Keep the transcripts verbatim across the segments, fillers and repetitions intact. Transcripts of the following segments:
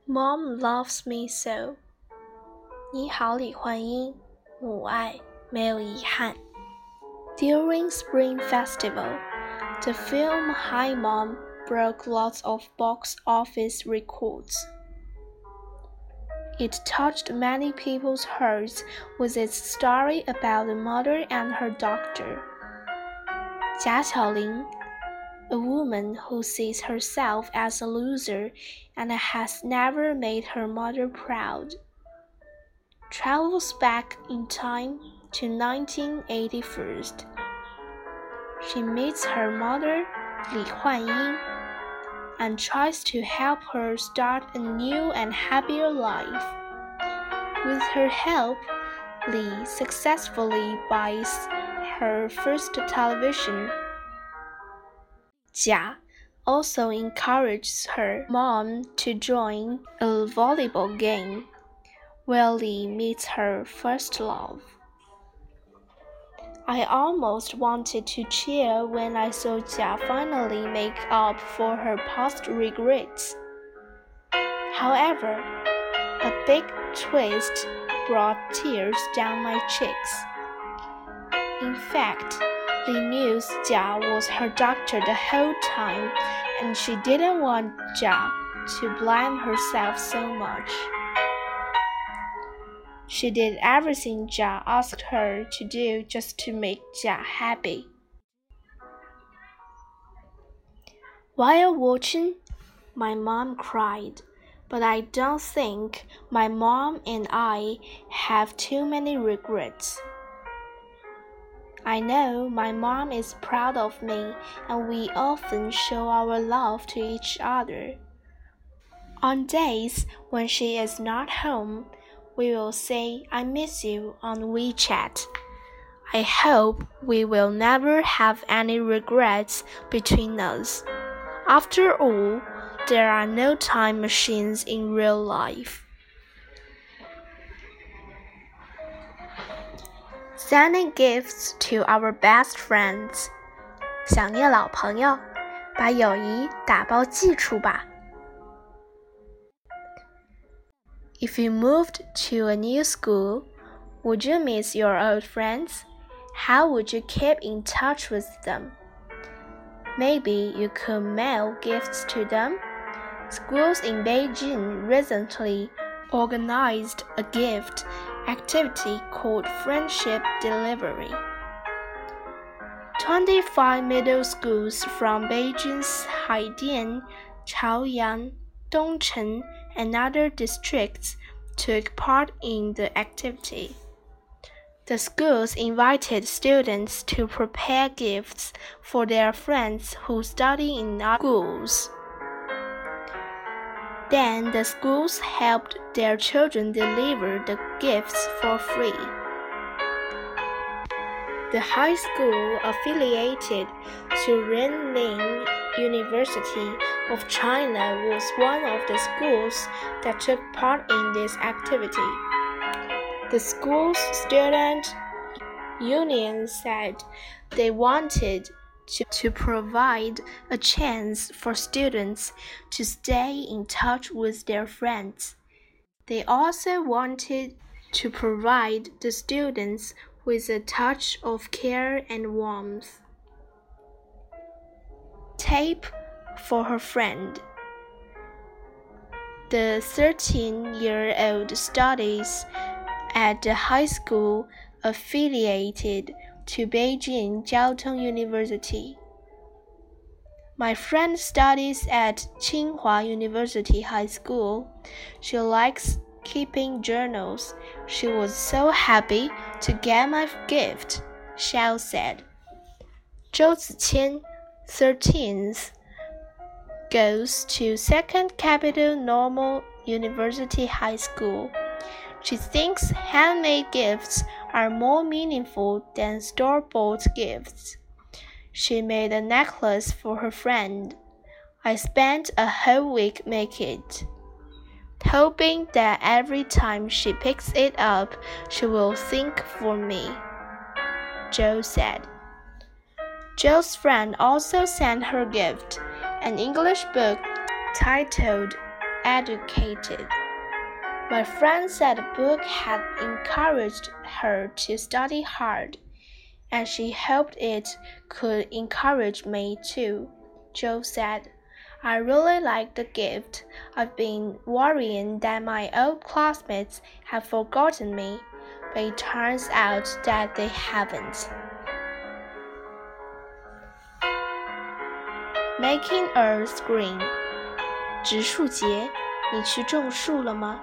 Mom loves me so. 你好，李焕英，母爱，没有遗憾。During Spring Festival, the film Hi Mom broke lots of box office records. It touched many people's hearts with its story about the mother and her doctor. 贾巧玲 A woman who sees herself as a loser and has never made her mother proud, travels back in time to nineteen eighty-one. She meets her mother, Li Huanying, and tries to help her start a new and happier life. With her help, Li successfully buys her first television. Jia also encourages her mom to join a volleyball game, where Li meets her first love. I almost wanted to cheer when I saw Jia finally make up for her past regrets. However, a big twist brought tears down my cheeks. In fact, Li knew Jia was her doctor the whole time, and she didn't want Jia to blame herself so much. She did everything Jia asked her to do just to make Jia happy. While watching, my mom cried, but I don't think my mom and I have too many regrets. I know my mom is proud of me, and we often show our love to each other. On days when she is not home, we will say I miss you on WeChat. I hope we will never have any regrets between us. After all, there are no time machines in real life. Sending gifts to our best friends. 想念老朋友，把友谊打包寄出吧。If you moved to a new school, would you miss your old friends? How would you keep in touch with them? Maybe you could mail gifts to them. Schools in Beijing recently organized a gift activity called Friendship Delivery. twenty-five middle schools from Beijing's Haidian, Chaoyang, Dongcheng, and other districts took part in the activity. The schools invited students to prepare gifts for their friends who study in other schools. Then the schools helped their children deliver the gifts for free. The high school affiliated to Renmin University of China was one of the schools that took part in this activity. The school's student union said they wanted to, to provide a chance for students to stay in touch with their friends. They also wanted to provide the students with a touch of care and warmth. Tape for her friend. The thirteen-year-old studies at the high school affiliated to Beijing Jiaotong University. My friend studies at Tsinghua University High School. She likes keeping journals. She was so happy to get my gift, Xiao said. Zhou Ziqian, thirteenth, goes to Second Capital Normal University High School. She thinks handmade gifts are more meaningful than store-bought gifts. She made a necklace for her friend. I spent a whole week making it, hoping that every time she picks it up, she will think for me, Joe said. Joe's friend also sent her gift, an English book titled educated. My friend said the book had encouraged her to study hard, and she hoped it could encourage me too, Joe said. I really like the gift. I've been worrying that my old classmates have forgotten me, but it turns out that they haven't. Making Earth Green. 植树节，你去种树了吗？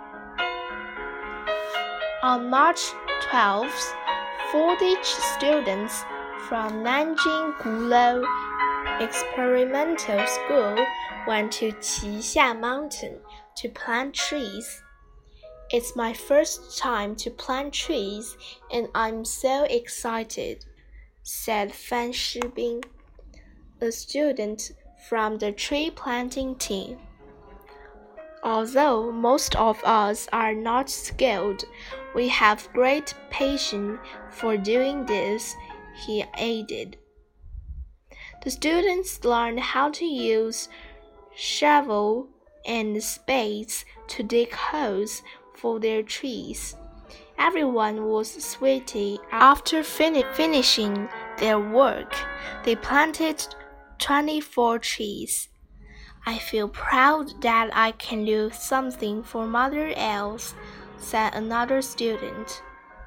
On March twelfth, forty students from Nanjing Gulou Experimental School went to Qixia Mountain to plant trees. It's my first time to plant trees, and I'm so excited, said Fan Shibing, a student from the tree planting team. Although most of us are not skilled, we have great patience for doing this, he added. The students learned how to use shovel and spades to dig holes for their trees. Everyone was sweaty. After fin finishing their work, they planted twenty-four trees. I feel proud that I can do something for Mother Else, said another student.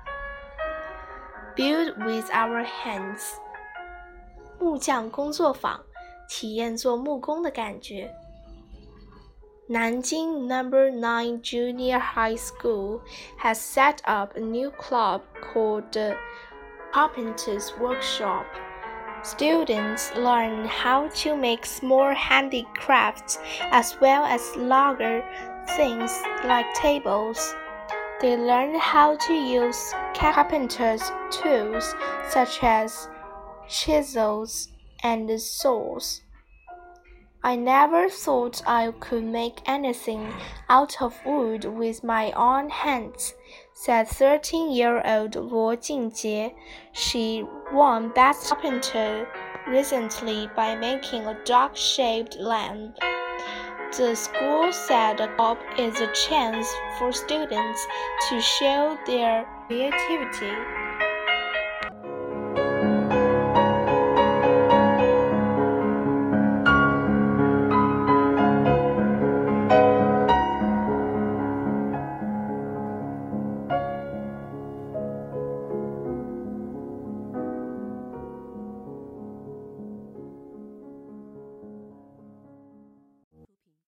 Build with our hands. 木匠工作坊，体验做木工的感觉。Nanjing Number nine Junior High School has set up a new club called the Carpenter's Workshop. Students learn how to make small handicrafts as well as larger things like tables. They learn how to use carpenter's tools such as chisels and saws. I never thought I could make anything out of wood with my own hands, said thirteen-year-old Luo Jingjie. She won Best Carpenter recently by making a dog-shaped lamp. The school said the club is a chance for students to show their creativity.